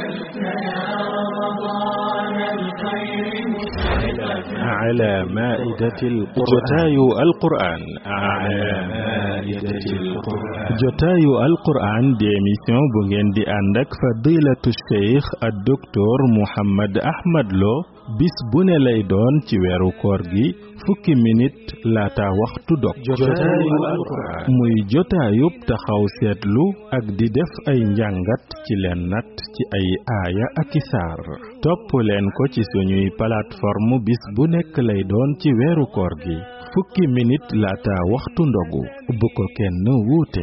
على مائدة القرآن القرآن على مائدة القرآن جتايو القرآن دي émission bu ngeen di ànd ak fadilatu cheikh ak docteur Mouhammad Ahmad Lo bis bu ne lay doon ci weeru koor gi fukki minute laata waxtu dog jotaayu alquran muy jotaayub taxaw seetlu ak di def ay njàngat ci leen nat ci ay aaya ak i saar topp leen ko ci suñuy plateforme bis bu nekk lay doon ci weeru koor gi fukki minute laata waxtu ndogu bu ko kenn wuute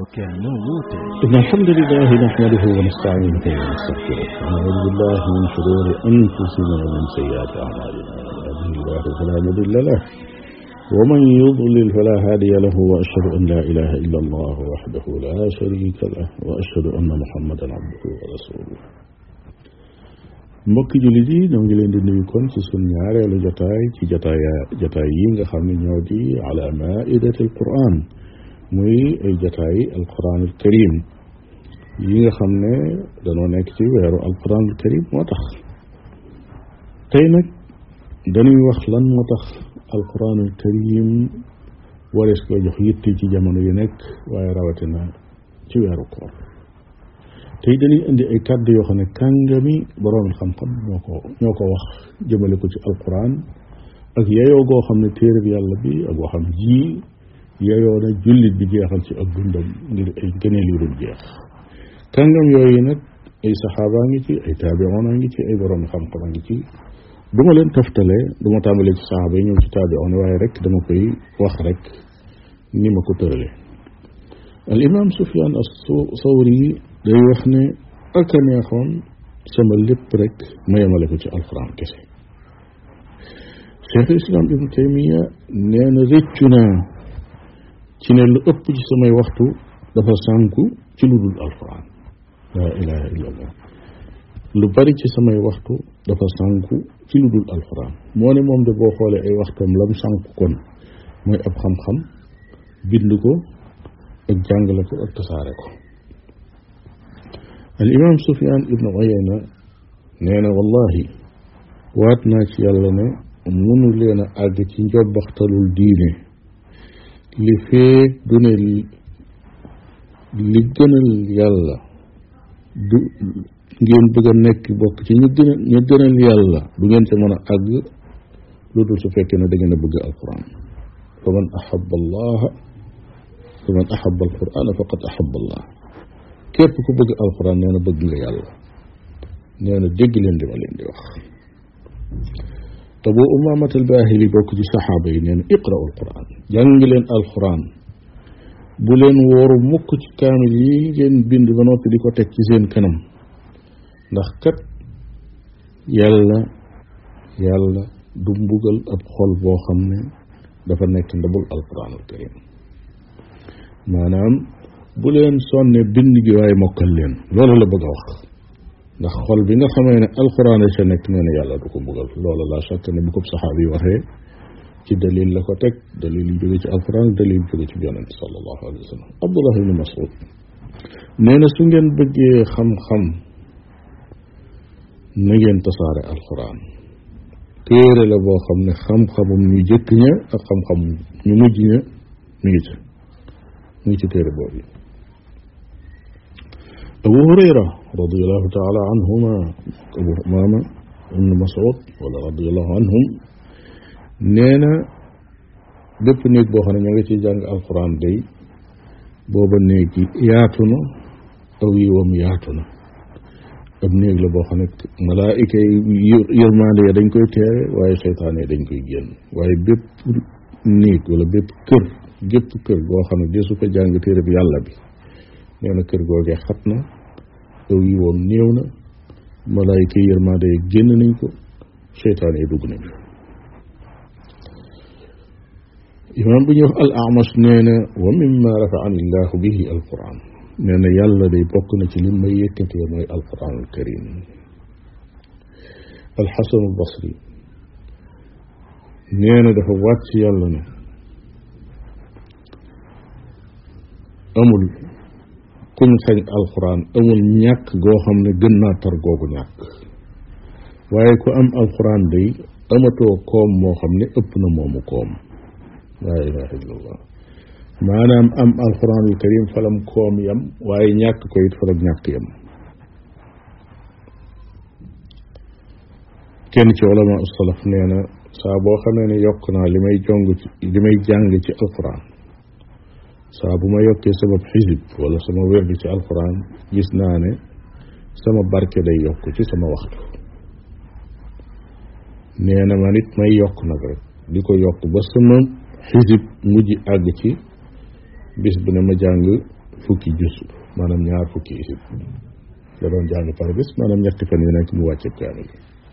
alhamdulillahi nahmaduhu wa nasta'inuhu wa nastaghfiruh wa na'udhu billahi min shururi anfusina wa min sayyiati a'malina yahdihi fala mudilla lahu wa man yudlil fala hadiya lahu wa ashhadu an la ilaha illa Allah wahdahu la sharika lahu wa ashhadu anna Muhammadan abduhu wa rasuluhu mbokki jullit yi ñoo ngi leen di nuyu kon ci sunu ñaareelu jotaay ci jotaay yi nga xam ne ñoo di ala maidati alquran muy ay jotaay alquran alkarim yi nga xam ne dañoo nekk ci weeru alquran alkarim moo tax tey nag dañuy wax lan moo tax alquran alkarim warees ko jox yitte ci jamono yu nekk waaye rawatina ci weeru koor tey dañuy indi ay kàddu yoo xam ne kàngami borom xam-xam ñoo ko wax jëmale ko ci alquran ak yeyoo goo xam ne téere bi yàlla bi ak waxam ji yeyoo na jullit bi jeexal ci ak dundam ngir ay gëneel yu dul jeex kàngam yooyu nag ay saxaaba ngi ci ay taabi'oon ngi ci ay borom xam-xam ngi ci du ma leen toftale du ma tàmbalee ci saxaaba yi ñëw ci taabi'oon waaye rek dama koy wax rek ni ma ko tërale al imam Sufyaan as-Sawri day wax ne ak a neexoon sama lépp rek ma yemale ko ci alquran kese cheikh islam ibnu taymiya nee na rëccu naa ci ne lu ëpp ci samay waxtu dafa sànku ci lu dul alquran laa ilaha illa allah lu bari ci samay waxtu dafa sànku ci lu dul alquran moo ne moom de boo xoolee ay waxtam lam sànku kon mooy ab xam-xam bind ko ak jàngale ko ak tasaare ko al imam Sufyaan ibnu Uyayna nee na wallahi waat naa ci yàlla ne mënu leen a àgg ci njobbaxtalul diine li feek du ne li gënal yàlla du ngeen bëgg a nekk bokk ci ñu gënal yàlla du ngeen ca mën a àgg lu dul su fekkee ne da ngeen a bëgg alquran fa man ahaba allaha fa man ahaba alquran faqad ahaba allah képp ku bëgg alquran nee na bëgg nga yàlla nee na dégg leen li ma leen di wax te boo Umaamat al-Baahili bokk ci saxaaba yi nee na iqra'u alquran jàng leen alquran bu leen wóoru mukk ci kaamil yi ngeen bind ba noppi di ko teg ci seen kanam ndax kat yàlla du mbugal ab xol boo xam ne dafa nekk ndabul alquran alkarim maanaam bu leen sonne bind gi waaye mokkal leen loolu la bëgg a wax ndax xol bi nga xamee ne alquran sa nekk nee na yàlla du ko mbugal loolu la chaque ne bu ko saxaabi yi waxee ci dalil la ko teg dalil yu jóge ci alquran dalil yu jóge ci yonent sallallahu alayhi wa sallam Abdullah ibn Mas'ud nee na su ngeen bëggee xam-xam na ngeen tasaare alquran téere la boo xam ne xam-xamum ñu jëkk ña ak xam-xam ñu mujj ña mi ngi ci téere boobu Abu Hurayra radiyallahu taala anhuma Abu Umaama ibn Mas'ud wala radiyallahu anhum nee na bépp néeg boo xam ne ñoo ngi ciy jàng alquran day booba néeg yi yaatu na aw yiwam yaatu na ab néeg la boo xam ne malaayika yi yërmande ya dañ koy teere waaye seytaane dañ koy génn waaye bépp néeg wala bépp gépp kër goo xam ne desu ko jàng téere bi yàlla bi nee na kër googee xat na aw yiwam néew na malaayika yi yërmande ya génn nañ ko seytaane yi dugg nañ ko imaam bu ñuy wax al A'mash nee na wa mimma rafa'ani llahu bihi alquran nee na yàlla day bokk na ci lim may yëkkatee mooy alquran alkarim alxasan albasri nee na dafa waat ci yàlla ne amul kuñ xañ alquran amul ñàkk goo xam ne gën naa tar googu ñàkk waaye ku am alquran day amatoo koom moo xam ne ëpp na moomu koom laa ilaha illallah maanaam am alquranul karim falam koom yam waaye ñàkk ko it falam ñàkk yam kenn ci ulama salaf nee na saa boo xamee ne yokk naa li may jàng ci alquran saa bu ma yokkee sama xisib wala sama wérdi ci alquran gis naa ne sama barke day yokk ci sama waxtu nee na man it may yokk nag rek di ko yokk ba sama xisib mujj àgg ci bis bu ne ma jàng fukki jus maanaam ñaar fukki xisib da doon jàng par bis maanaam ñetti fan yu nekk mu wàcce kaamil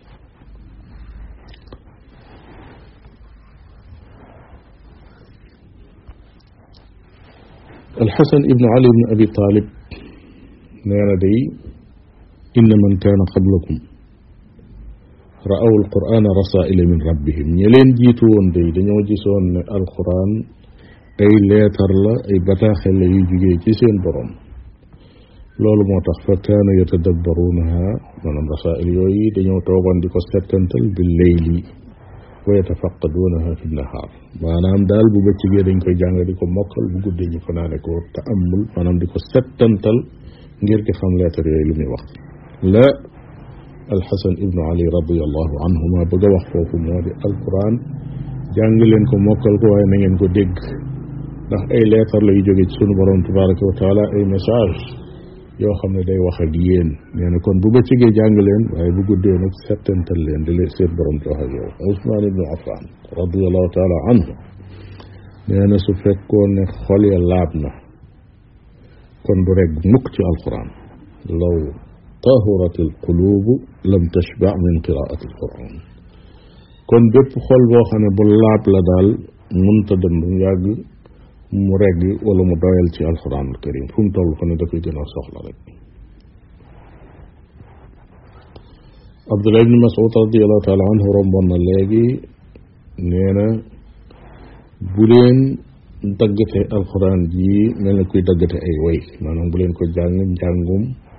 الحسن ابن علي بن أبي طالب نانا دي إن من كان قبلكم رأوا القرآن رسائل من ربهم يلين جيتون دي دنيو جيسون القرآن أي ليتر لا أي بتاخل يجي جيسين برام لول موتاخ فكان يتدبرونها من رسائل يوي دنيو توغان ديكو ستنتل بالليل ويتفقدونها في النهار maanaam daal bu bëccëgee dañ koy jàng di ko mokkal bu guddee ñu fanaane ko ta'ammul maanaam di ko settantal ngir di xam leetar yooyu lu muy wax la alxasan ibnu ali radiallahu anhuma bëgg a wax foofu moo di alquran jàng leen ko mokkal ko waaye na ngeen ko dégg ndax ay leetar la yu jóge ci sunu borom tabaraka wa taala ay message yoo xam ne day wax ak yéen nee na kon bu bëccëgee jàng leen waaye bu guddee nag settantal leen di leen seen borom di wax ak yow Usmaan ibnu Affan radiallahu taala anhu nee na su fekkoon ne xol ya laab na kon du rek mukk ci alquran law tahurat alqulubu lam tashba min qiraati alquran kon bépp xol boo xam ne bu laab la daal munta dem bu yàgg mu regg wala mu doyal ci alquran alkarim fu mu toll fa ne da koy gën a soxla rek Abdullah ibn Mas'ud radiallahu taala anhu romboon na léegi nee na bu leen daggate alquran ji mel na kuy daggate ay way maanaam bu leen ko jàng njàngum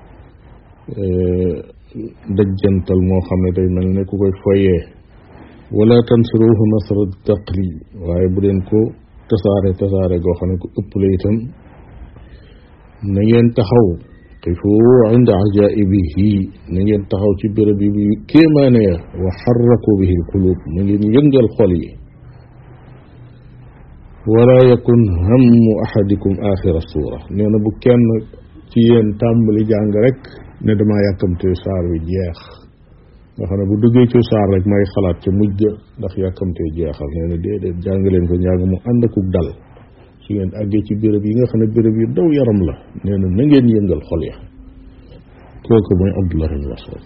dajjantal moo xam ne day mel ne ku koy foyee wala tansuruhu nasra taqli waaye bu leen ko tasaare goo xam ne ku ëpp la itam na ngeen taxaw qifu inda ajaibihi na ngeen taxaw ci béréb yi kéemaane ya wa xarraku bihi alqulub na ngeen yëngal xol yi wala yakun hammu ahadikum axira suura nee na bu kenn ci yéen tàmbali jàng rek ne damaa yàkkamte saar wi jeex nga xam ne bu duggee ci saar rek may xalaat ca mujj ndax yàkkamte jeexal nee na déedéet jàng leen ko njàng mu ànd akuk dal su ngeen àggee ci béréb yi nga xam ne béréb yu daw yaram la nee na ngeen yëngal xol ya kooku mooy Abdullah ibn Mas'ud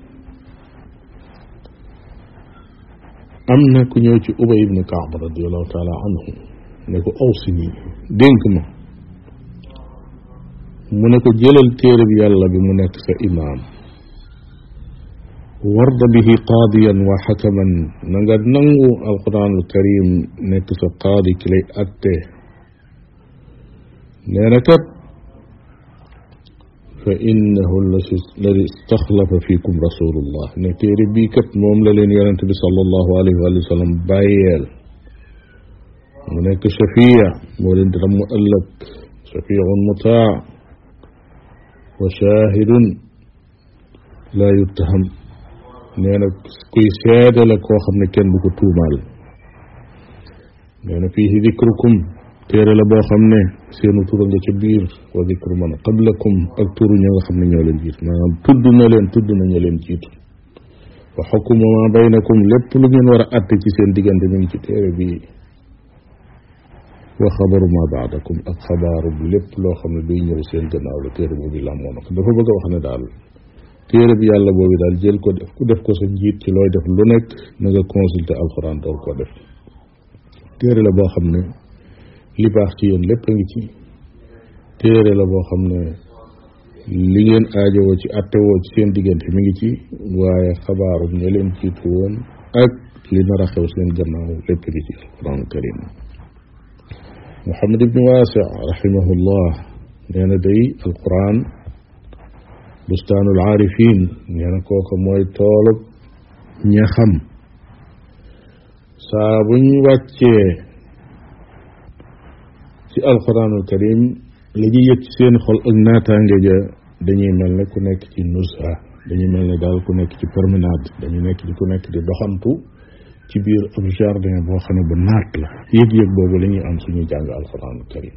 am na ku ñëw ci Ubay ibn Ka'b radiyallahu taala anhu ne ko awsini dénk ma mu ne ko jëlal téere bi yàlla bi mu nekk sa imaam warda bihi qaadiyan wa xakaman na nga nangu alquranul karim nekk sa qaadi ki lay atte nee na kat fa innahu alladi istaxlafa fiikum rasulullah ne téere bii kat moom la leen yonente bi sallallahu alayhi wa sallam bàyyeel mu nekk shafiya moo leen di ram mu ëllëg shafiun mutaa wa shahidun la yuttaham nee na kuy seede la koo xam ne kenn du ko tuumaal nee na fiihi dikrukum téere la boo xam ne seenu tura nga ca biir wa dikru man qablakum ak turu ña nga xam ne ñoo leen jiitu maanaam tudd na ña leen jiitu wa xukmu ma baynakum lépp lu ngeen war a atte ci seen diggante mi ngi ci téere bi wa xabaru ma baadakum ak xabaaru lépp loo xam ne duy ñëw seen gannaaw la téere boobu làmmoo na ko dafa bëgg a wax ne daal téere bi yàlla boobu daal jël ko def ko sa njiit ci looy def lu nekk na nga consulter alxuraan door koo def téere la boo xam ne li baax ci yéen lépp a ngi ci téere la boo xam ne li ngeen aajowoo ci attewoo ci seen diggante mi ngi ci waaye xabaaru ña leen jiitu woon ak li nar a xew seen gannaaw lépp ngi ci alxuraan karim Muhammad ibn Waasi rahimahullah nee na day alquran bustaanul aarifin nee na kooka mooy toolub ña xam saa buñ wàccee ci alquranul karim la ñuy yëg ci seen xol ak naataange ja dañuy mel ne ku nekk ci nusha dañuy mel ne daal ku nekk ci promenade dañuy nekk di ku nekk di doxantu ci biir ab jardin boo xam ne bu naat la yëg-yëg boobu la ñuy am suñuy jàng alquranul karim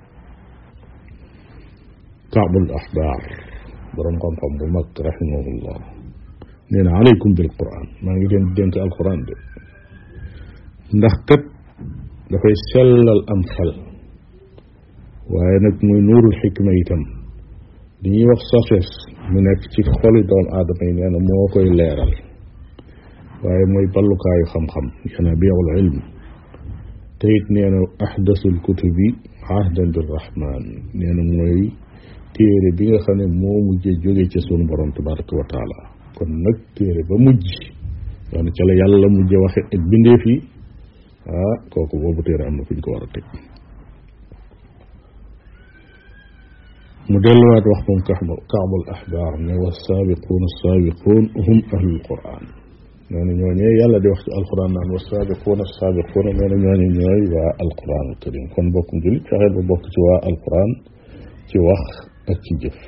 kaabul axbaar borom xam-xam bu mag rahimahullah nee na aleykum bil quran maa ngi leen dénk alquran de ndax kat dafay sellal am xel waaye nag muy nuurul xikma itam li ñuy wax sagesse mu nekk ci xoli doomu aadama yi nee na moo koy leeral waaye mooy ballukaayu xam-xam yanabiul ilm te it nee na ahdasul kutubi ahdan bir rahman nee na mooy téere bi nga xam ne moo mujjee jóge ca sunu borom tabaraka wa taala kon nag téere ba mujj wax ne ca la yàlla mujje waxe ak bindeef yi kooku boobu téere am na fu ñu ko war a teg mu delluwaat wax moom kaabul ahbaar ne wa saabiquun assaabiquun hum ahlul quran nee na ñooñee yàlla di wax ci alquran naan wa saabiquun assaabiquun nee na ñooñe ñooy waa alquran al karim kon bokkum julit fexeel ba bokk ci waa alquran ci wax ak ci jëf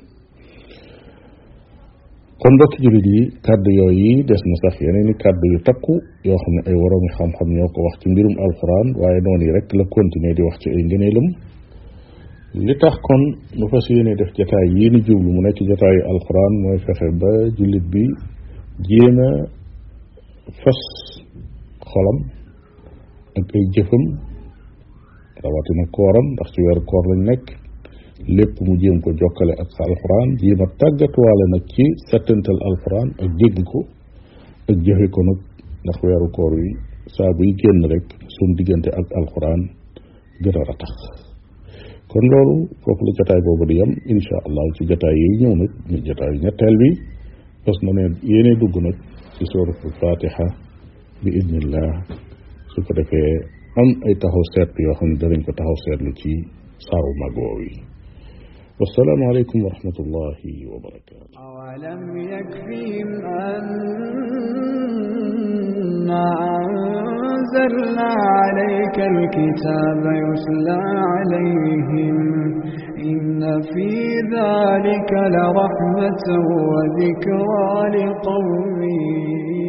kon mbokki jullit yi kàddu yooyu des na sax yeneen i kàddu yu takku yoo xam ne ay waroomi xam-xam ñoo ko wax ci mbirum alquran waaye noonu yi rek la continuer di wax ci ay ngëneelam li tax kon nu fas yéene def jataay yii ni jublu mu nekk jataayu alquran mooy fexe ba jullit bi jéem a fas xolam ak ay jëfam rawatina kooram ndax ci weeru koor lañ nekk lépp mu jéem ko jokkale ak alquran jéem a tàggatuwaale nag ci settantal alquran ak dégg ko ak jëfe ko nag ndax weeru koor wi saa buy génn rek suñ diggante ak alquran gën a ratax kon loolu foofu la jataay boobu di yem insha allah ci jataay yi ñëw nag ñu jataay ñetteel bi parce que ne yéene dugg nag ci suratul fatiha bi idnillah su ko defee am ay taxaw seetlu yoo xam ne danañ ko taxaw seetlu ci saaru mag woowu yi والسلام عليكم ورحمة الله وبركاته أولم يكفيهم أنا أنزلنا عليك الكتاب يتلى عليهم إن في ذلك لرحمة وذكرى لقوم